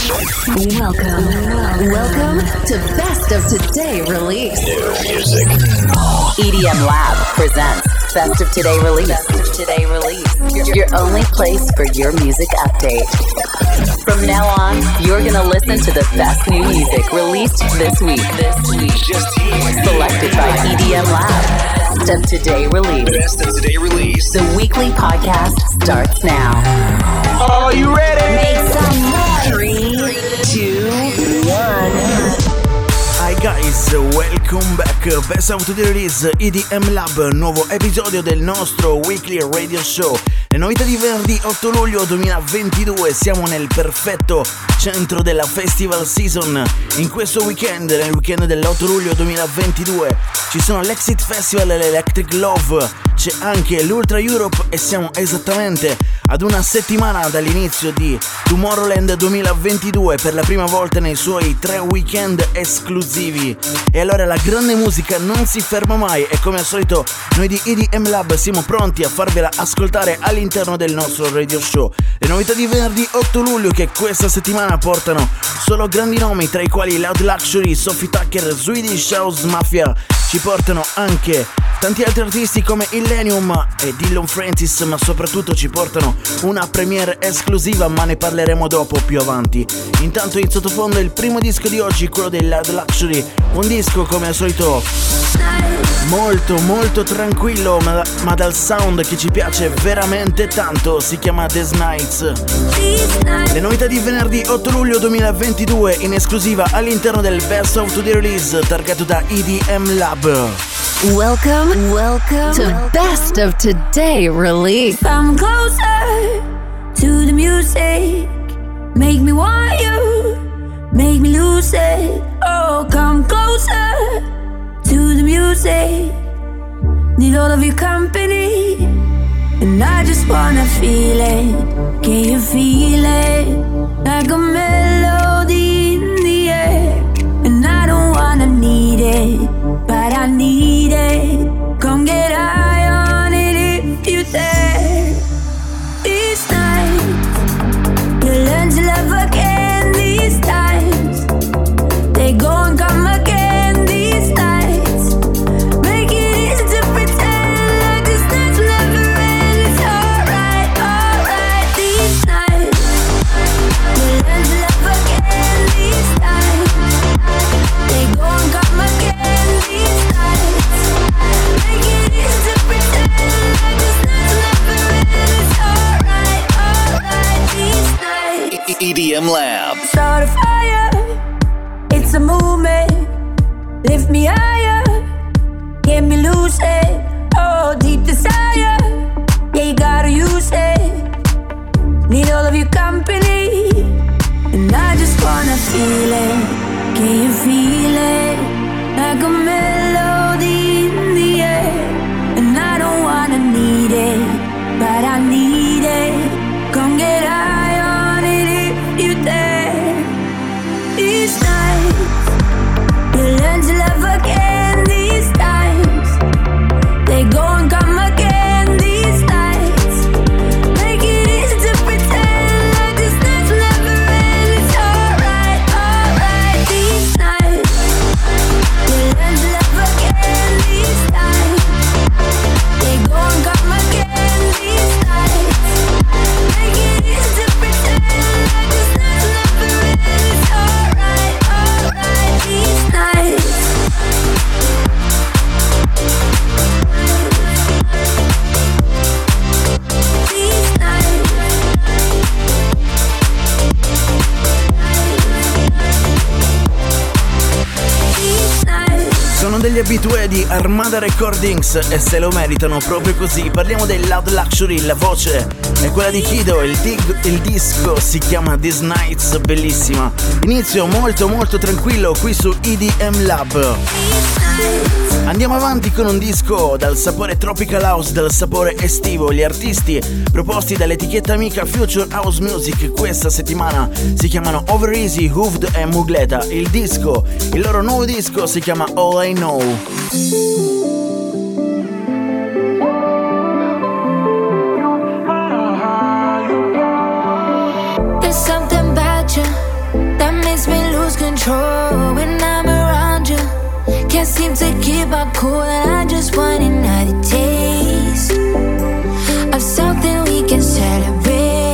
Welcome to Best of Today Release. New music. EDM Lab presents Best of Today Release. Best of Today Release. Your only place for your music update. From now on, you're gonna listen to the best new music released this week. Just here. Selected by EDM Lab. Best of Today Release. Best of Today Release. The weekly podcast starts now. Are you ready? Make some noise. 3, 2, 1. Hi guys, welcome back. Best of Today Release, EDM Lab, nuovo episodio del nostro weekly radio show. Le novità di venerdì 8 luglio 2022, siamo nel perfetto centro della festival season. In questo weekend, nel weekend dell'8 luglio 2022, ci sono l'Exit Festival e l'Electric Love, c'è anche l'Ultra Europe e siamo esattamente ad una settimana dall'inizio di Tomorrowland 2022 per la prima volta nei suoi 3 weekend esclusivi. E allora la grande musica non si ferma mai e come al solito noi di EDM Lab siamo pronti a farvela ascoltare all'interno del nostro radio show. Le novità di venerdì 8 luglio che questa settimana portano solo grandi nomi, tra i quali Loud Luxury, Sophie Tucker, Swedish House Mafia. Ci portano anche tanti altri artisti come Illenium e Dillon Francis, ma soprattutto ci portano una premiere esclusiva, ma ne parleremo dopo più avanti. Intanto in sottofondo il primo disco di oggi, quello del Loud Luxury, un disco come al solito molto tranquillo, ma dal sound che ci piace veramente tanto, si chiama These Nights. Le novità di venerdì 8 luglio 2022 in esclusiva all'interno del Best of Today Release targato da EDM Lab. Welcome to Best of Today Release. Come closer to the music, make me want you, make me lose it. Oh, come closer to the music, need all of your company, and I just wanna feel it. Can you feel it? Like a melody in the air, and I don't wanna need it, but I need it. Come get high on it if you dare. These nights, you learn to love again. These times, they go and come again. These nights, make it easy to pretend like this nights will never end. It's alright. These nights, you learn to love again. These times, they go and come again. These nights, make it easy to pretend like this nights will never end. It's alright. These nights. EDM Lab. Start a fire, it's a movement. Lift me higher, get me lucid. Oh, deep desire, yeah, you gotta use it. Need all of your company, and I just wanna feel it. Can you feel it? Like a melody in the air, and I don't wanna need it, but I need it. Come get high on it if you dare. These nights, you learn to love again. These times, they go and come again. These nights, make it easy to pretend like this nights will never end. It's alright. These nights, you learn to love again. These times, they go and come again. These nights, make it easy to pretend like this nights will never end. It's alright. These nights. These nights. These nights. Sono degli abitué di Armada Recordings e se lo meritano proprio così. Parliamo del Loud Luxury, la voce è quella di Kido, il disco si chiama These Nights, bellissima. Inizio molto tranquillo qui su EDM Lab. Andiamo avanti con un disco dal sapore tropical house, dal sapore estivo. Gli artisti proposti dall'etichetta amica Future House Music questa settimana si chiamano Over Easy, Hooved e Mugleta. Il loro nuovo disco si chiama All I Know. There's something about you cool and I just want another taste of something we can celebrate.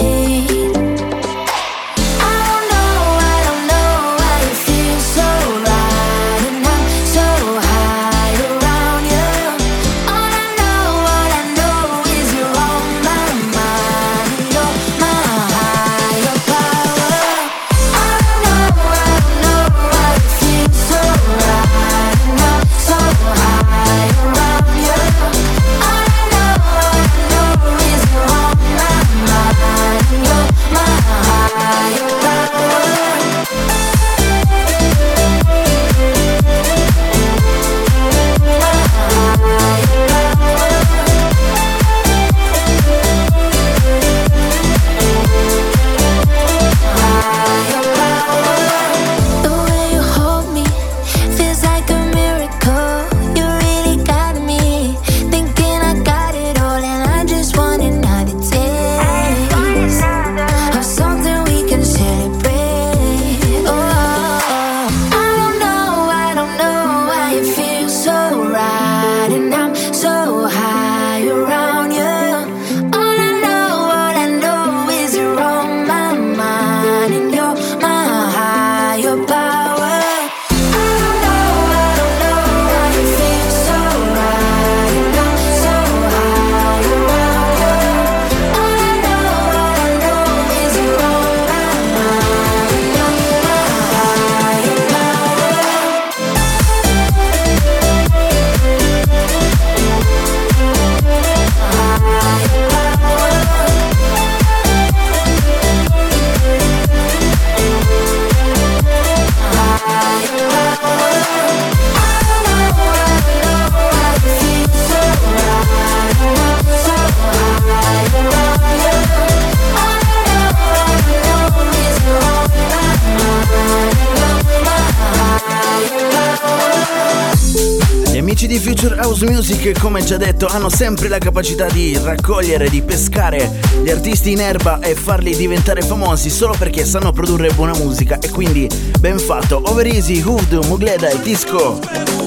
Di Future House Music, come già detto, hanno sempre la capacità di raccogliere, di pescare gli artisti in erba e farli diventare famosi solo perché sanno produrre buona musica, e quindi ben fatto. Over Easy, Hood, Mugleda e Disco.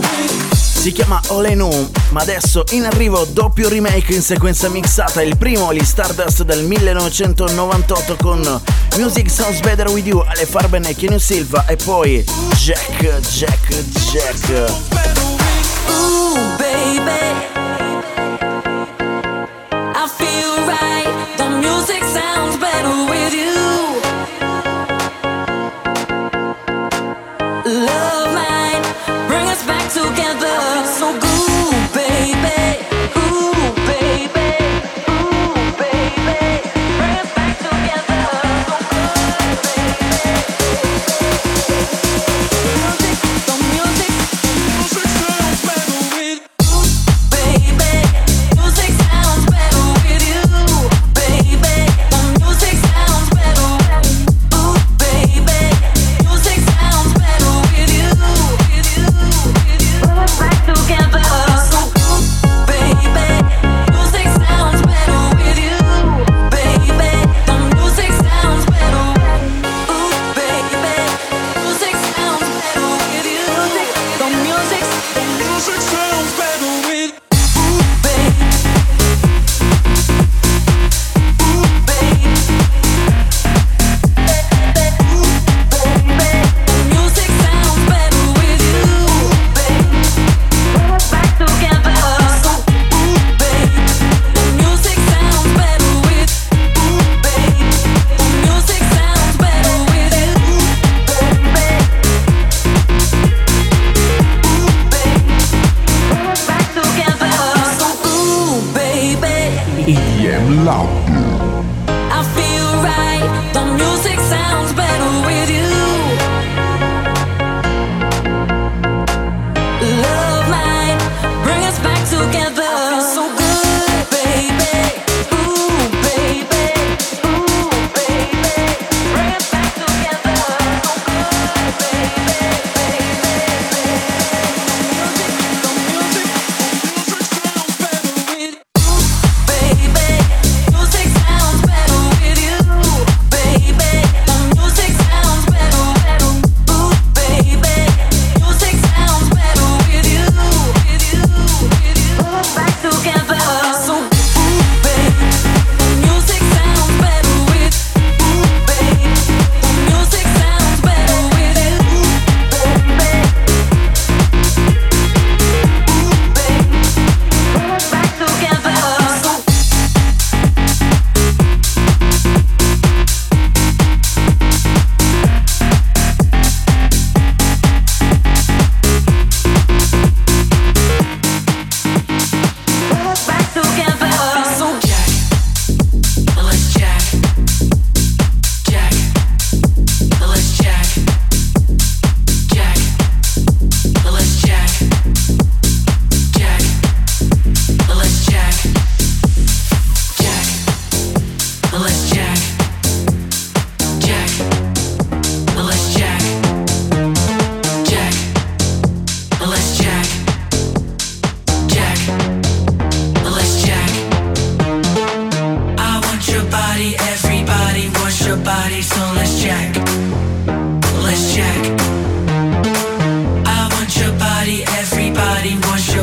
Si chiama All I Know, ma adesso in arrivo doppio remake in sequenza mixata. Il primo, gli Stardust del 1998 con Music Sounds Better With You, Ale Farben e Kenny Silva, e poi Jack. Ooh, baby, I feel right. The music sounds better with you. Love might bring us back together. So good, baby. Ooh, baby. Ooh, baby. Bring us back together. So good, baby. The music sounds better with you.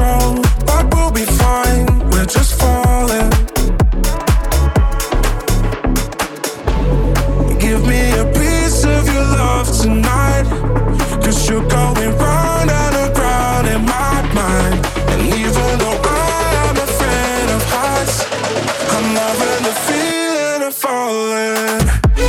control, but we'll be fine. We're just falling. Give me a piece of your love tonight, 'cause you're going round and around in my mind. And even though I am afraid of heights, I'm loving the feeling of falling.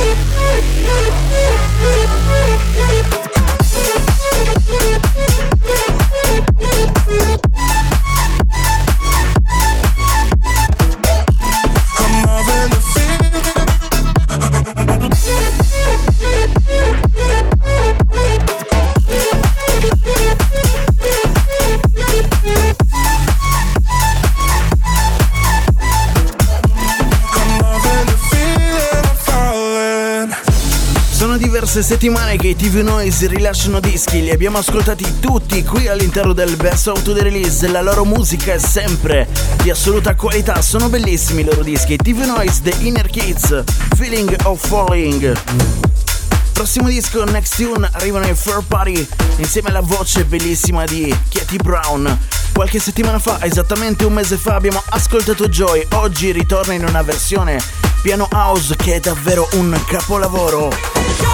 Diverse settimane che i TV Noise rilasciano dischi, li abbiamo ascoltati tutti qui all'interno del Best of the Release. La loro musica è sempre di assoluta qualità, sono bellissimi i loro dischi. TV Noise, The Inner Kids, Feeling of Falling. Prossimo disco, Next Tune, arrivano i Fur Party insieme alla voce bellissima di Katie Brown. Qualche settimana fa, esattamente un mese fa, abbiamo ascoltato Joy. Oggi ritorna in una versione piano house che è davvero un capolavoro.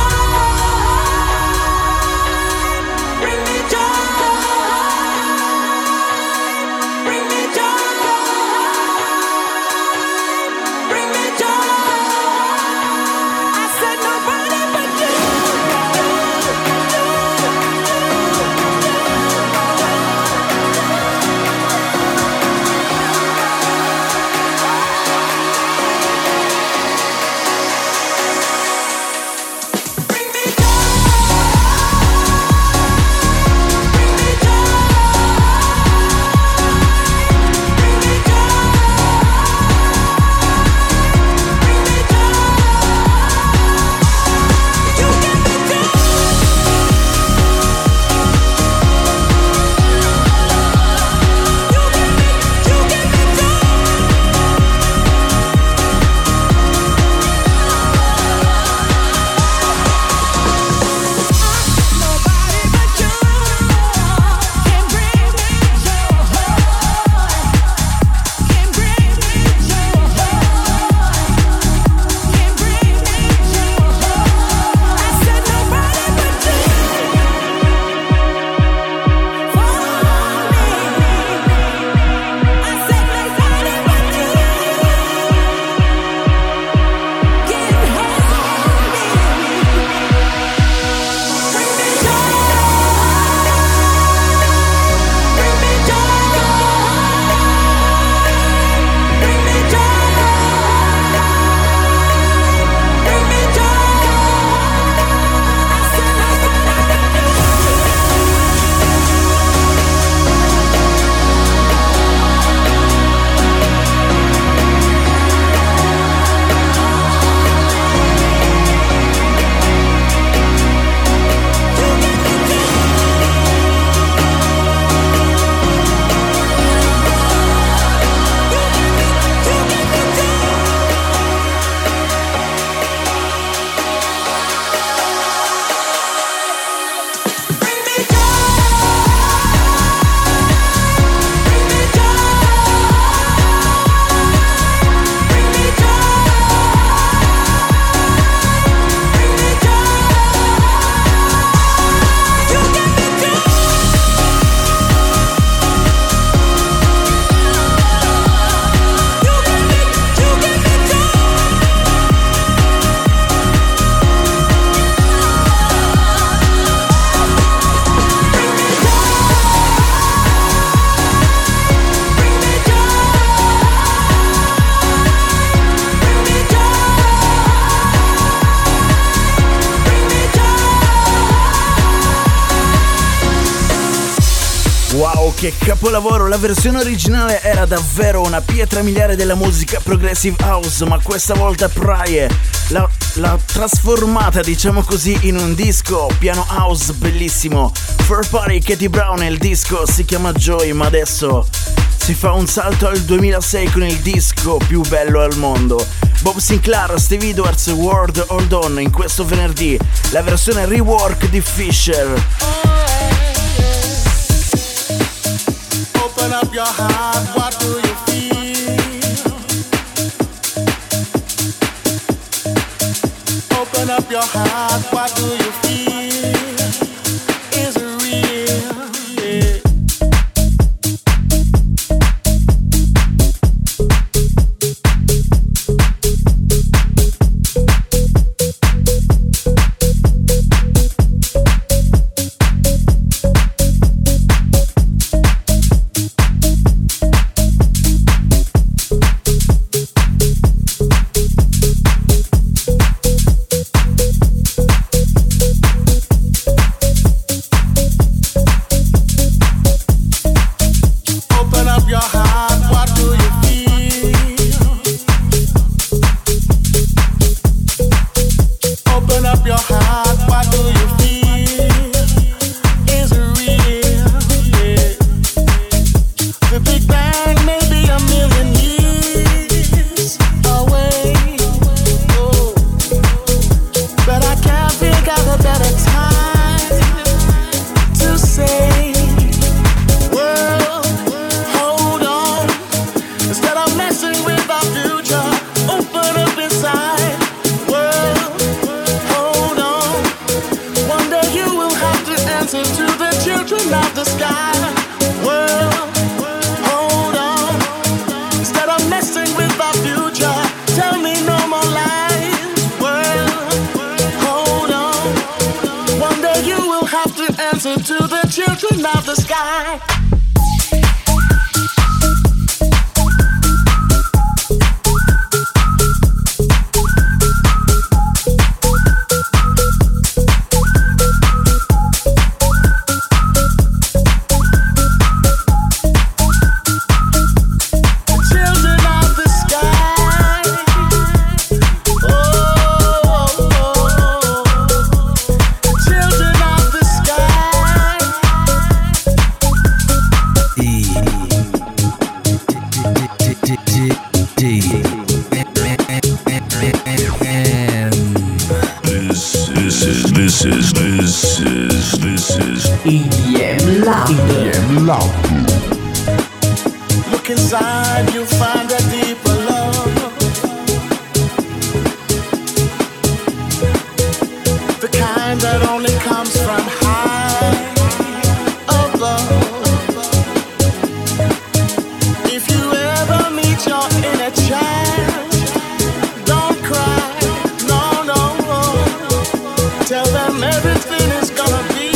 Wow, che capolavoro! La versione originale era davvero una pietra miliare della musica progressive house, ma questa volta Praye l'ha trasformata, diciamo così, in un disco piano house bellissimo. Fur Party, Katie Brown, e il disco si chiama Joy, ma adesso si fa un salto al 2006 con il disco più bello al mondo. Bob Sinclair, Steve Edwards, World Hold On, in questo venerdì la versione rework di Fisher. Open up your heart, what do you feel? Open up your heart, what do you feel? Is it real? Yeah. EDM Lab. Look inside, you'll find a deeper love. The kind that only comes from high above. If you ever meet your inner child, don't cry, no, no. Tell them everything is gonna be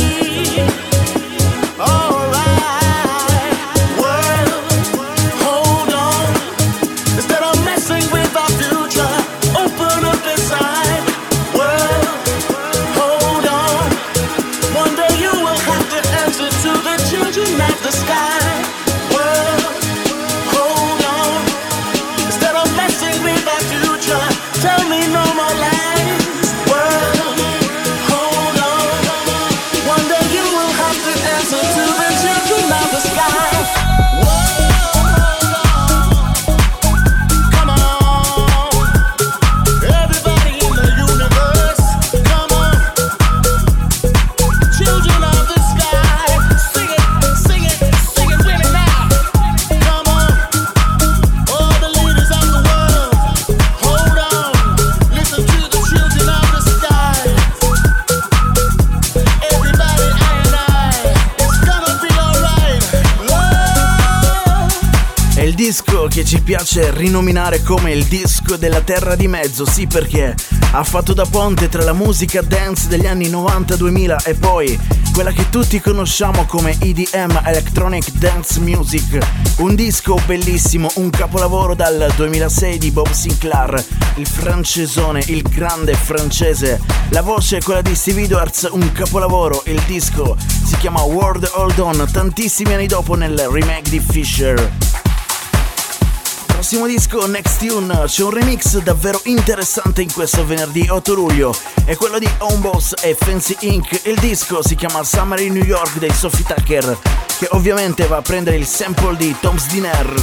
che ci piace rinominare come il disco della terra di mezzo, sì, perché ha fatto da ponte tra la musica dance degli anni 90-2000 e poi quella che tutti conosciamo come EDM, Electronic Dance Music, un disco bellissimo, un capolavoro dal 2006 di Bob Sinclair, il francesone, il grande francese, la voce è quella di Stevie Edwards, un capolavoro, il disco si chiama World Hold On, tantissimi anni dopo nel remake di Fisher. Prossimo disco, Next Tune, c'è un remix davvero interessante in questo venerdì 8 luglio, è quello di Homeboss e Fancy Inc. Il disco si chiama Summer in New York dei Sophie Tucker, che ovviamente va a prendere il sample di Tom's Dinner.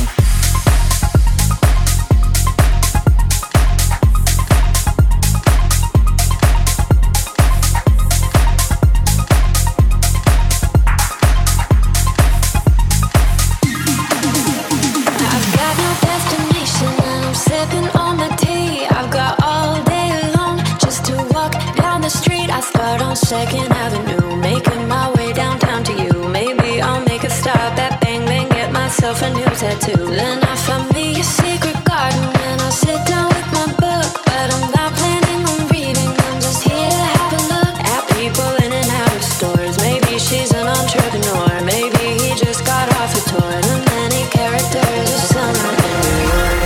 2nd Avenue, making my way downtown to you. Maybe I'll make a stop at Bang Bang, get myself a new tattoo. Then I find me a secret garden and I sit down with my book. But I'm not planning on reading, I'm just here to have a look at people in and out of stores. Maybe she's an entrepreneur, maybe he just got off a tour. The many characters of summer in New York.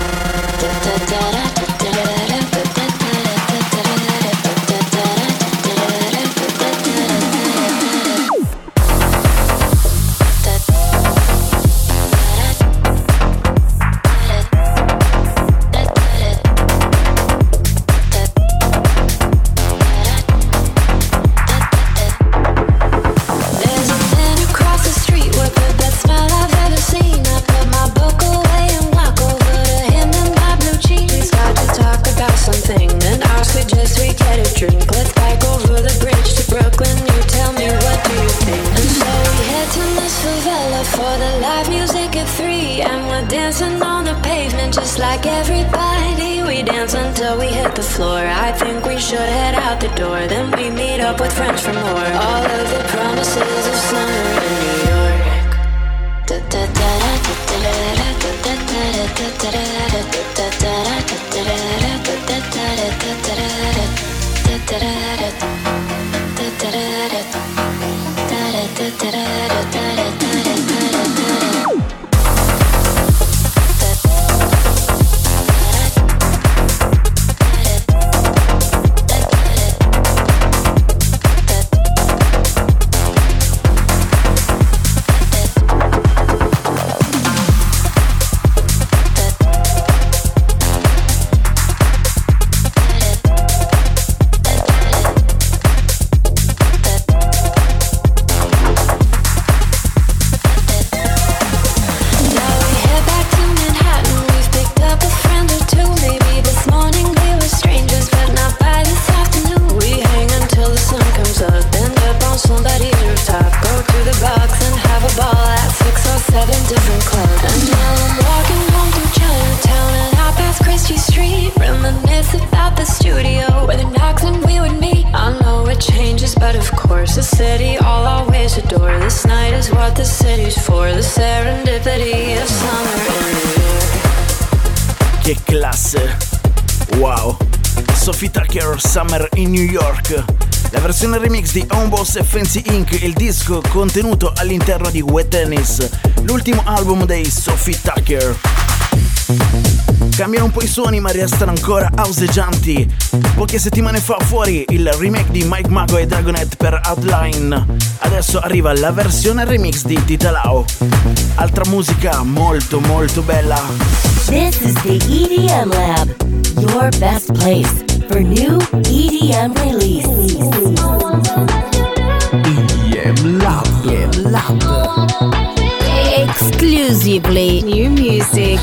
Like everybody, we dance until we hit the floor. I think we should head out the door, then we meet up with friends for more. All of the promises of summer in New York. Che classe! Wow! Sophie Tucker, Summer in New York. La versione remix di Homeboss e Fancy Inc., il disco contenuto all'interno di Wet Tennis, l'ultimo album dei Sophie Tucker. Cambiano un po' i suoni ma restano ancora houseggianti. Poche settimane fa fuori il remake di Mike Mago e Dragonette per Outline. Adesso arriva la versione remix di Tita Lau. Altra musica molto molto bella. This is the EDM Lab, your best place for new EDM release. EDM Lab. Exclusively new music.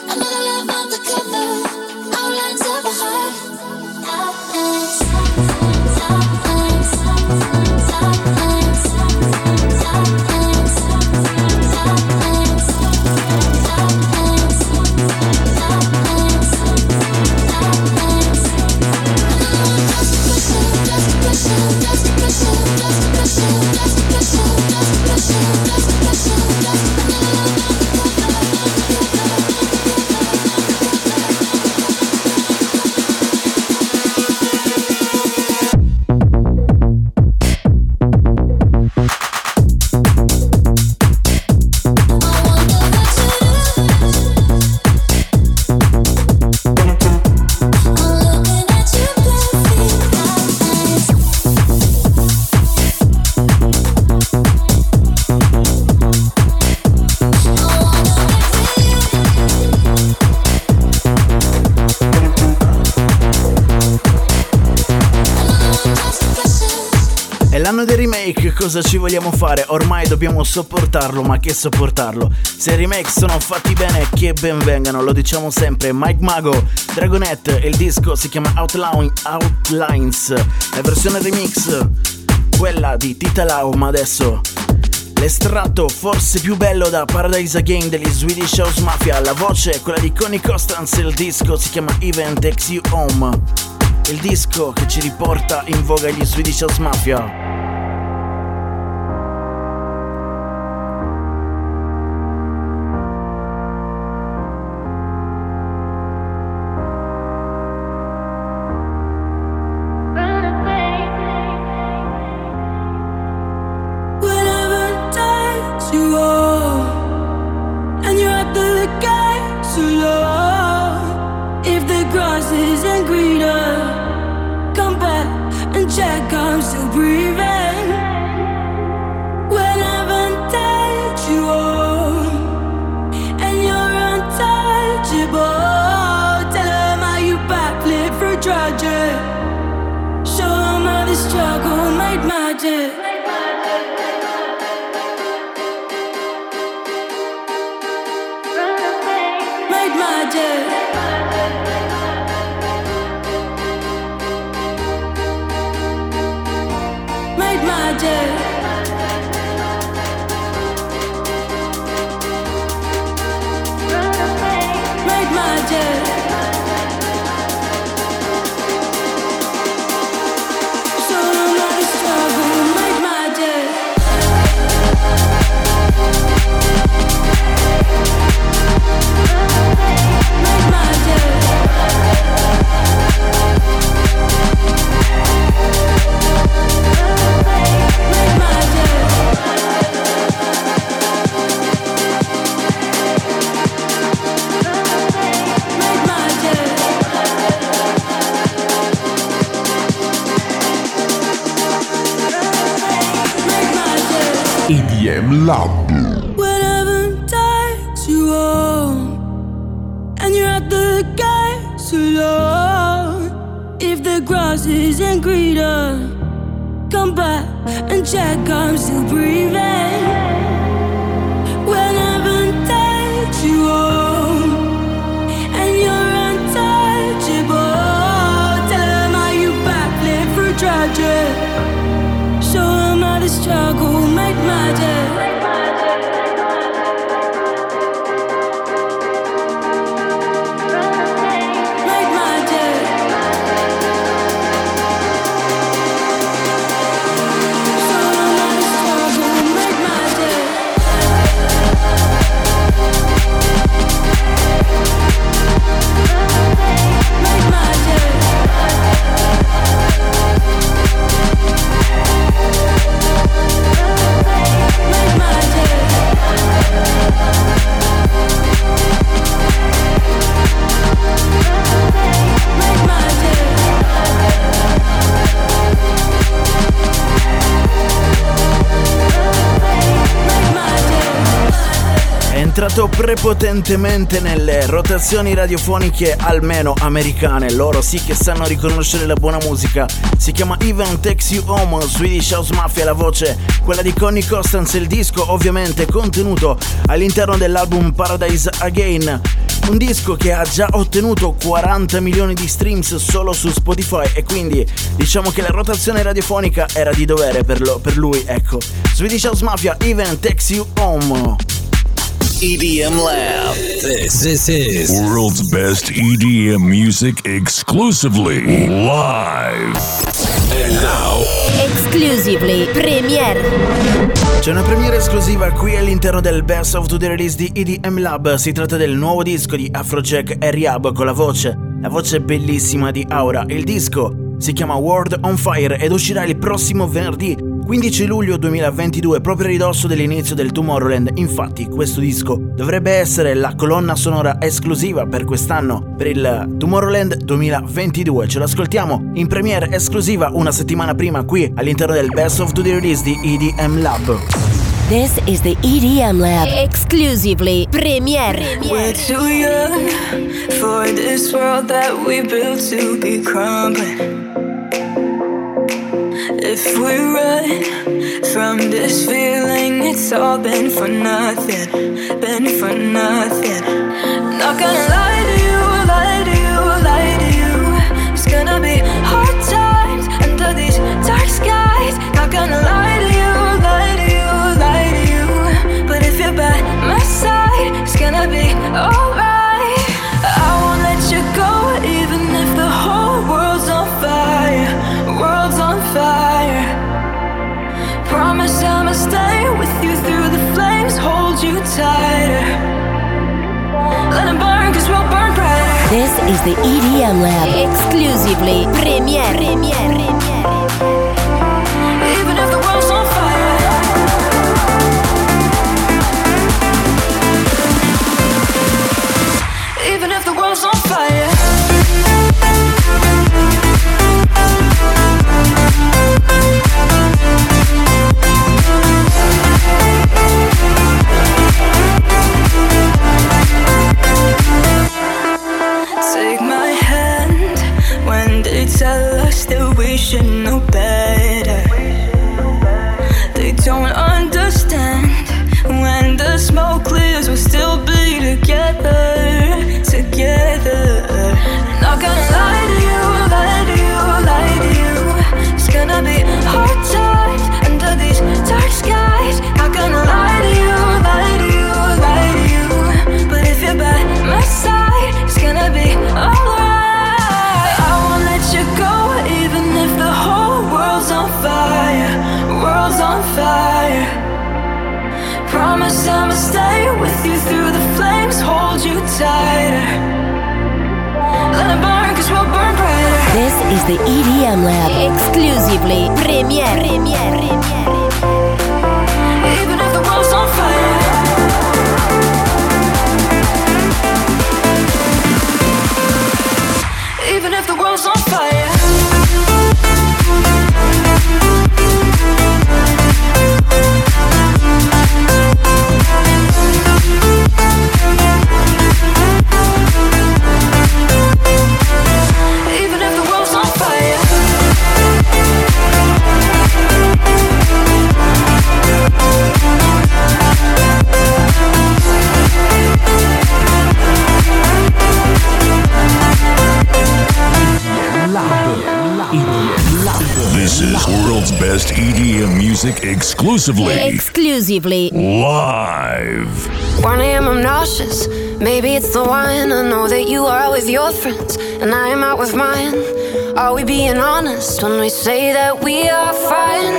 L'anno dei remake, cosa ci vogliamo fare? Ormai dobbiamo sopportarlo, ma che sopportarlo? Se i remake sono fatti bene, che ben vengano, lo diciamo sempre. Mike Mago, Dragonette, il disco si chiama Outlines, la versione remix, quella di Tita Lau, ma adesso l'estratto forse più bello da Paradise Again degli Swedish House Mafia, la voce è quella di Connie Constance, il disco si chiama Even Takes You Home, il disco che ci riporta in voga gli Swedish House Mafia. EDM Lab. Whenever takes you home and you're at the gates alone, if the grass isn't greener, come back and check I'm still breathing. Whenever takes you home and you're untouchable, tell them how you backflip through tragic. Show them how the struggle made magic. Make magic. Show them how the struggle made magic. entrato prepotentemente nelle rotazioni radiofoniche, almeno americane. Loro sì che sanno riconoscere la buona musica. Si chiama Even Takes You Home, Swedish House Mafia, la voce quella di Connie Constance, il disco ovviamente contenuto all'interno dell'album Paradise Again. Un disco che ha già ottenuto 40 milioni di streams solo su Spotify, e quindi diciamo che la rotazione radiofonica era di dovere per lui, ecco. Swedish House Mafia, Even Takes You Home. EDM Lab. This is World's best EDM music exclusively live. And now, Exclusively Premiere. C'è una premiere esclusiva qui all'interno del Best of the Release di EDM Lab. Si tratta del nuovo disco di Afrojack e Rehab con la voce bellissima di Aura. Il disco si chiama World on Fire ed uscirà il prossimo venerdì 15 luglio 2022, proprio a ridosso dell'inizio del Tomorrowland. Infatti questo disco dovrebbe essere la colonna sonora esclusiva per quest'anno, per il Tomorrowland 2022. Ce lo ascoltiamo in premiere esclusiva una settimana prima qui all'interno del Best of the Release di EDM Lab. This is the EDM Lab. Exclusively Premiere. We're too young for this world that we built to be crumbling. If we run from this feeling, it's all been for nothing, been for nothing. Not gonna lie to you, lie to you, lie to you. It's gonna be hard times under these dark skies. Not gonna lie to you, lie to you, lie to you. But if you're by my side, it's gonna be alright. I won't let you go, even if the whole world's on fire, world's on fire. Promise I'ma stay with you through the flames, hold you tighter. Let them burn, cause we'll burn brighter. This is the EDM Lab. Exclusively Premiere. Even if the world's on fire. Even if the world's on fire. Take my hand when they tell us that we should know better. They don't understand. When the smoke clears, we'll still be together, together. Not gonna lie to you, lie to you, lie to you. It's gonna be hard times under these dark skies. Not gonna lie to you, lie to you, lie to you. But if you're by my side, it's gonna be alright. I won't let you go, even if the whole world's on fire, world's on fire. Promise I'ma stay with you through the flames, hold you tighter. Let them burn, cause we'll burn brighter. This is the EDM Lab. Exclusively Premiere. Even if the world's on fire. Even if the world's on fire. Even if the world's on fire. This is world's best EDM music exclusively live. 1 a.m. I'm nauseous, maybe it's the wine. I know that you are with your friends and I am out with mine. Are we being honest when we say that we are fine?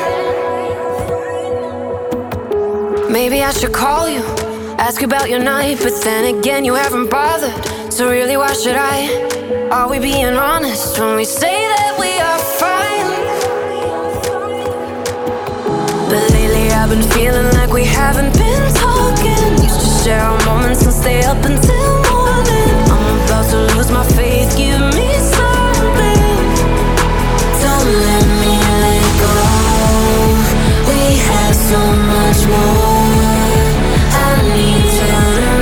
Maybe I should call you, ask you about your night, but then again you haven't bothered, so really why should I? Are we being honest when we say that we are fine? But lately I've been feeling like we haven't been talking. Used to share our moments and stay up until morning. I'm about to lose my faith, give me something. Don't let me let go. We have so much more. I need you to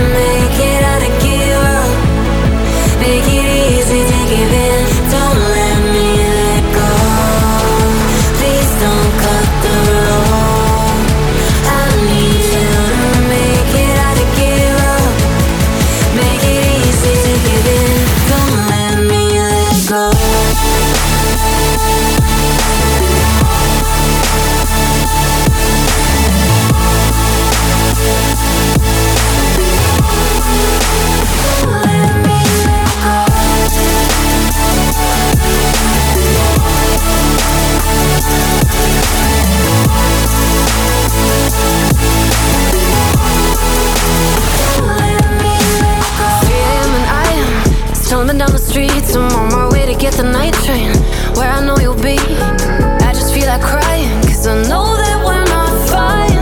streets, I'm on my way to get the night train where I know you'll be. I just feel like crying, cause I know that we're not fine.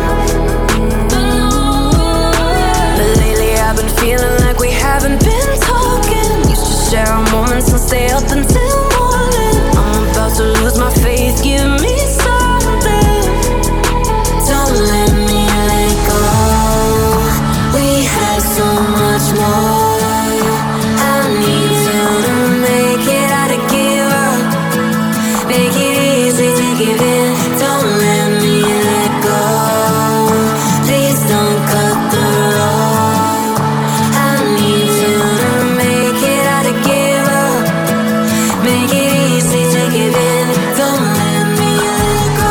But lately I've been feeling like we haven't been talking. Used to share our moments and stay up until morning. I'm about to lose my faith, give me something. Don't let me let go. We have so much more. I need you to make it out to give up. Make it easy to give in. Don't let me let go. Please don't cut the rope. I need you to make it out to give up. Make it easy to give in. Don't let me let go.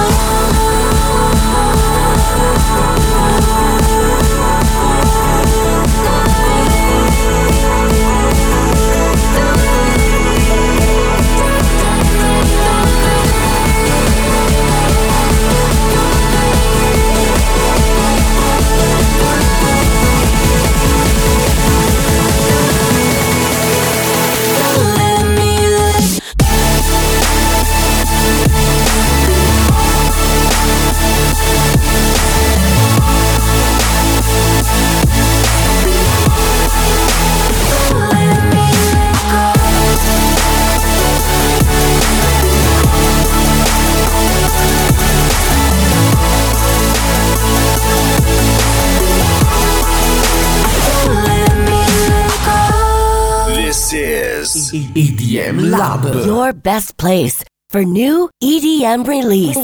This is EDM Lab. Your best place for new EDM release.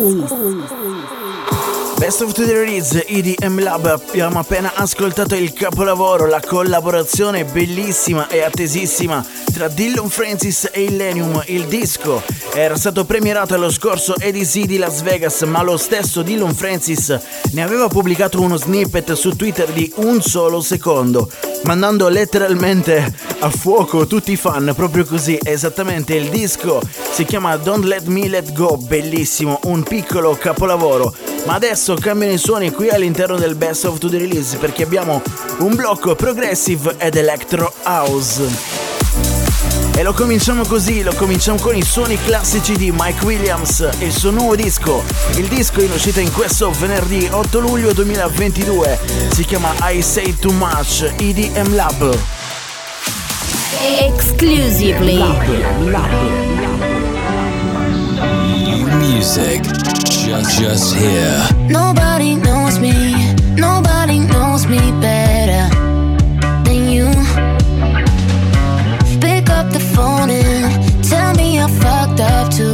Best of the Release, EDM Lab. Abbiamo appena ascoltato il capolavoro, la collaborazione bellissima e attesissima tra Dillon Francis e Illenium. Il disco era stato premierato allo scorso EDC di Las Vegas, ma lo stesso Dillon Francis ne aveva pubblicato uno snippet su Twitter di un solo secondo, mandando letteralmente a fuoco tutti i fan, proprio così, esattamente. Il disco si chiama Don't Let Me Let Go, bellissimo, un piccolo capolavoro. Ma adesso cambiano i suoni qui all'interno del Best of the Release, perché abbiamo un blocco progressive ed electro house. E lo cominciamo così, lo cominciamo con i suoni classici di Mike Williams e il suo nuovo disco. Il disco in uscita in questo venerdì 8 luglio 2022 si chiama I Say Too Much, EDM Lab. Exclusively. Music just here. Nobody knows me, nobody knows me better than you. Pick up the phone and tell me you're fucked up too.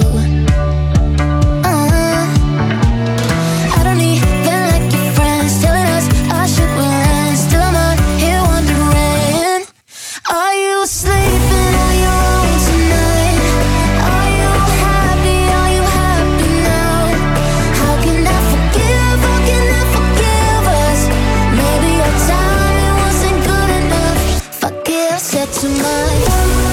I don't even like your friends telling us our shit will end. Still I'm out here wondering, are you sleeping on your own tonight? Are you happy? Are you happy now? How can I forgive? How can I forgive us? Maybe our timing wasn't good enough. Fuck it, I said too much.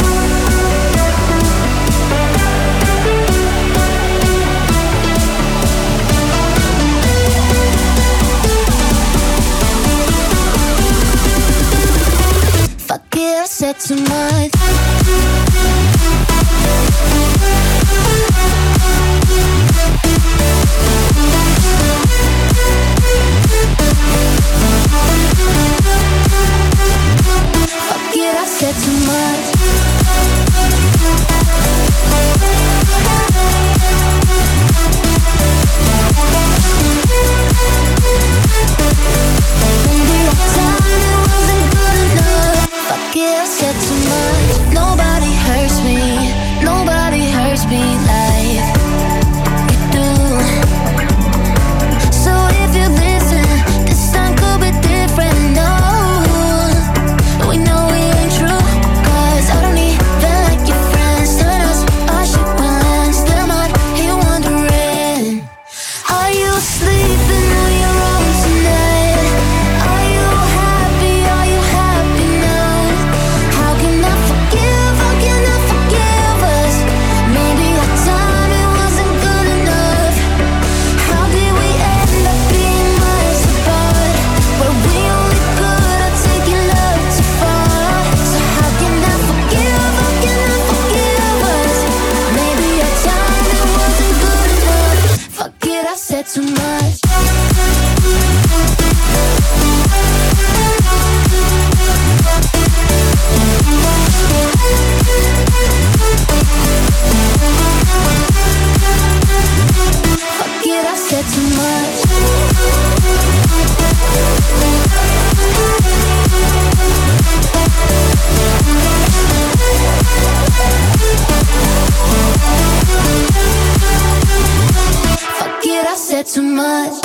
Fuck it, I said too much. Fuck it, I said too much. Maybe our timing wasn't good enough. Fuck it, I said too much. Nobody hurts me, nobody hurts me like you do. So if you listen, this time could be different. No, we know we ain't true. 'Cause I don't even like your friends telling us our shit will end. Still I'm out here wondering, are you sleeping on your own tonight? Are you happy? Are you happy now? How can I forgive? How can I forgive us? Maybe our time too much.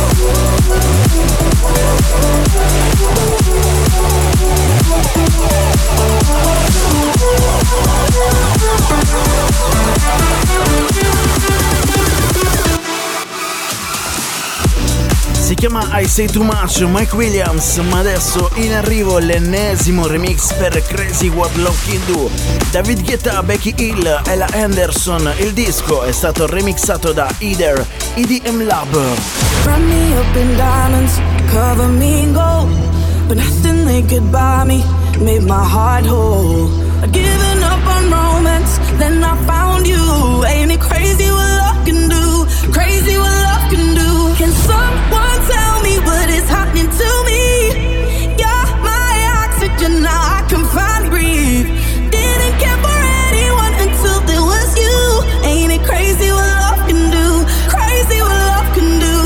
Si chiama I Say Too Much, Mike Williams, ma adesso in arrivo l'ennesimo remix per Crazy What Love Can Do. David Guetta, Becky Hill, Ella Anderson. Il disco è stato remixato da Either, EDM Lab. Wrap me up in diamonds, cover me in gold, but nothing they could buy me made my heart whole. I'd given up on romance, then I found you. Ain't it crazy what love can do? Crazy what love can do. Can someone tell me what is happening to me? You're my oxygen, now I can finally breathe. Didn't care for anyone until there was you. Ain't it crazy what love can do? Crazy what love can do.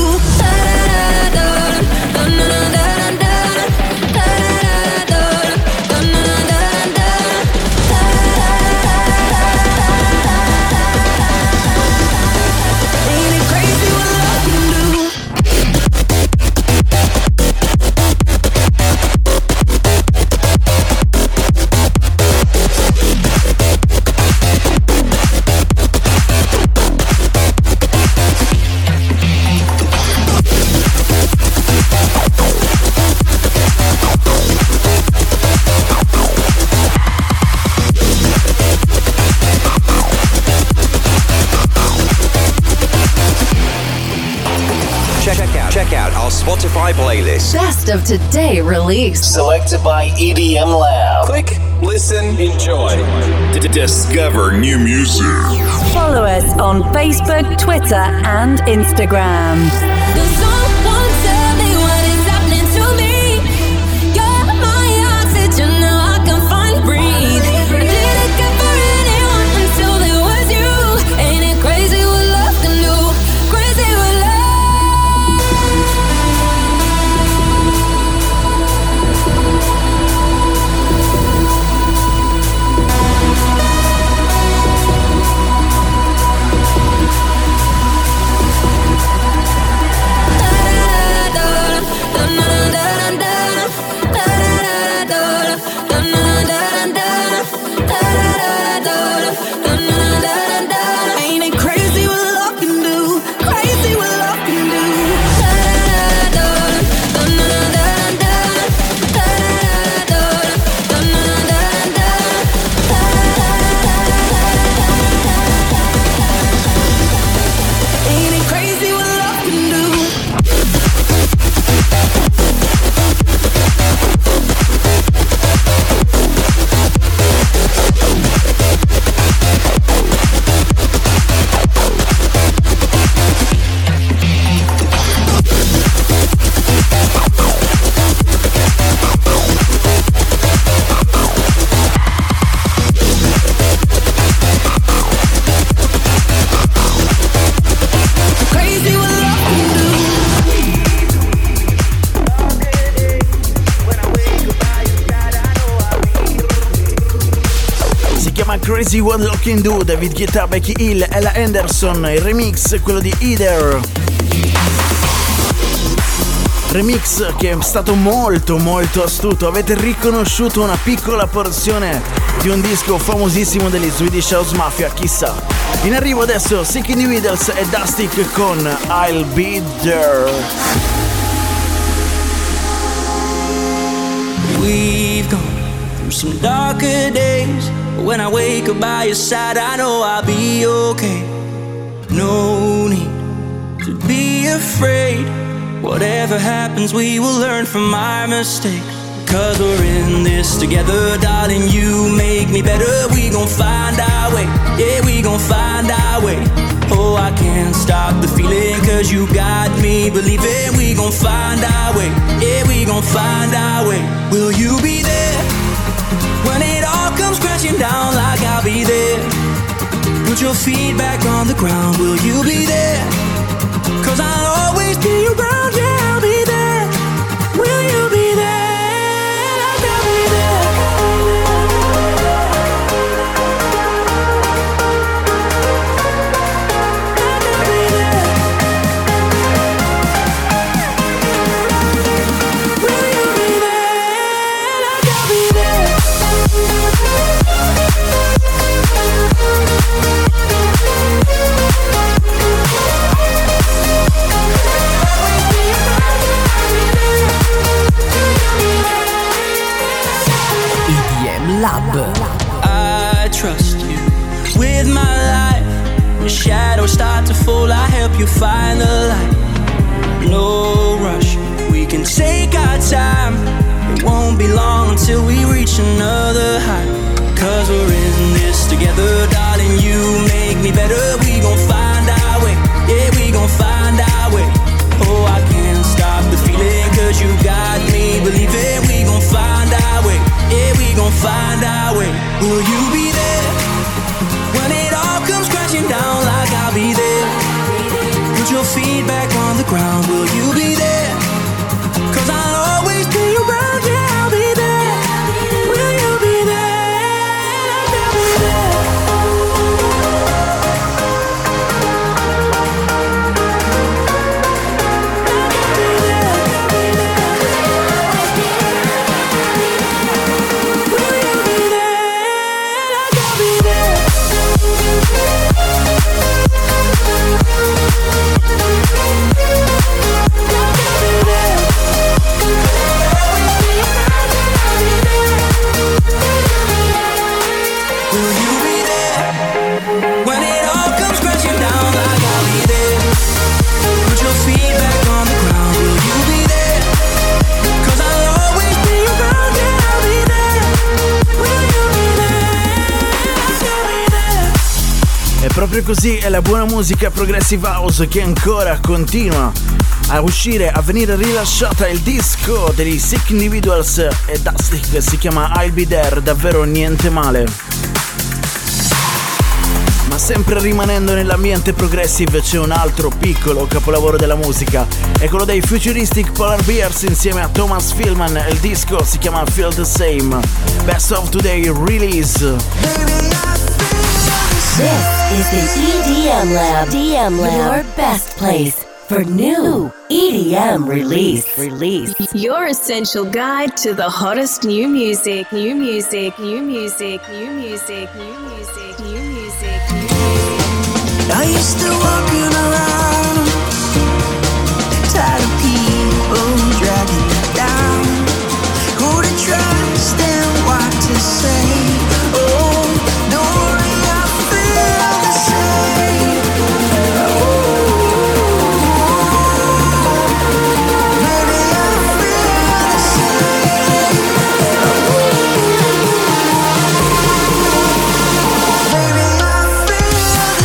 Check out our Spotify playlist. Best of today release. Selected by EDM Lab. Click, listen, enjoy. Discover new music. Follow us on Facebook, Twitter, and Instagram. Does someone tell me what is happening to me? You're my oxygen, now I can finally breathe. I didn't care for anyone until there was you. Ain't it crazy what love can do? Crazy what love. Ain't it crazy what love can do? Crazy what love can do. Ain't it crazy what love can do? Crazy what love can do. Si chiama Crazy What Love Can Do, David Guetta, Becky Hill, Ella Anderson. Il remix è quello di Either. Remix che è stato molto astuto. Avete riconosciuto una piccola porzione di un disco famosissimo degli Swedish House Mafia, chissà. In arrivo adesso Sick Individuals e Dustic con I'll Be There. We've gone through some darker days, but when I wake up by your side, I know I'll be okay. No need to be afraid. Whatever happens, we will learn from our mistakes. 'Cause we're in this together, darling, you make me better. We gon' find our way, yeah, we gon' find our way. Oh, I can't stop the feeling, 'cause you got me believing. We gon' find our way, yeah, we gon' find our way. Will you be there when it all comes crashing down? Like I'll be there. Put your feet back on the ground. Will you be there? 'Cause I'll always be around, yeah, I'll be there. Will you be there? I'll be there. I'll be there. I trust you with my life. When shadows start to fall, I help you find the light. No rush, we can take our time. It won't be long until we reach another height. 'Cause we're in this together, darling, you make me better. We gon' find our way, yeah, we gon' find our way. Oh, I can't stop the feeling, 'cause you got me believing. We gon' find our way, yeah, we gon' find our way. Will you be there when it all comes crashing down? Like I'll be there. Put your feet back on the ground. Will you be there? 'Cause I'll always be around, yeah, I'll be there. Will you be there? I'll be there. Proprio così è la buona musica Progressive House che ancora continua a uscire, a venire rilasciata. Il disco degli Sick Individuals e Dusty che si chiama I'll Be There, davvero niente male. Ma sempre rimanendo nell'ambiente progressive c'è un altro piccolo capolavoro della musica, è quello dei Futuristic Polar Bears insieme a Thomas Philman e il disco si chiama Feel the Same. Best of Today Release. This is the EDM Lab. Your best place for new EDM release. Your essential guide to the hottest new music. I used to walking around, tired of people dragging me down. Who to trust and what to say? Oh, don't worry, I feel the same. Maybe I feel the same. Maybe I feel the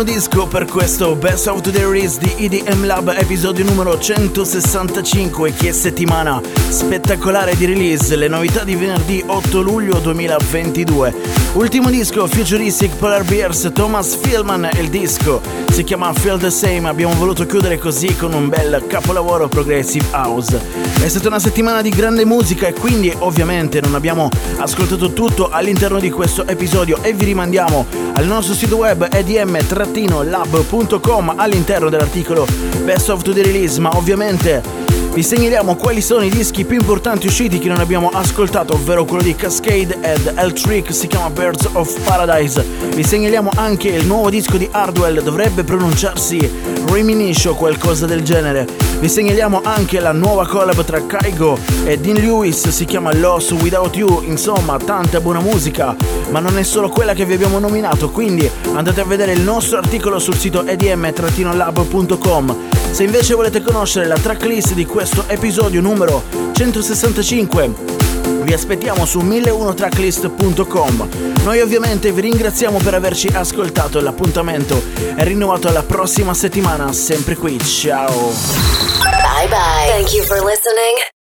ultimo disco per questo Best of the Release di EDM Lab, episodio numero 165. Che settimana spettacolare di release, le novità di venerdì 8 luglio 2022. Ultimo disco Futuristic Polar Bears, Thomas Philman, e il disco si chiama Feel the Same. Abbiamo voluto chiudere così con un bel capolavoro progressive house. È stata una settimana di grande musica e quindi ovviamente non abbiamo ascoltato tutto all'interno di questo episodio e vi rimandiamo al nostro sito web edm-lab.com all'interno dell'articolo Best of the Release, ma ovviamente vi segnaliamo quali sono i dischi più importanti usciti che non abbiamo ascoltato, ovvero quello di Cascade ed L-Trick, si chiama Birds of Paradise. Vi segnaliamo anche il nuovo disco di Hardwell, dovrebbe pronunciarsi Reminisce o qualcosa del genere. Vi segnaliamo anche la nuova collab tra Kygo e Dean Lewis, si chiama Lost Without You. Insomma, tanta buona musica, ma non è solo quella che vi abbiamo nominato, quindi andate a vedere il nostro articolo sul sito edm-lab.com. Se invece volete conoscere la tracklist di questo episodio numero 165, vi aspettiamo su 1001tracklist.com. Noi ovviamente vi ringraziamo per averci ascoltato e l'appuntamento è rinnovato alla prossima settimana, sempre qui. Ciao. Bye bye. Thank you for listening.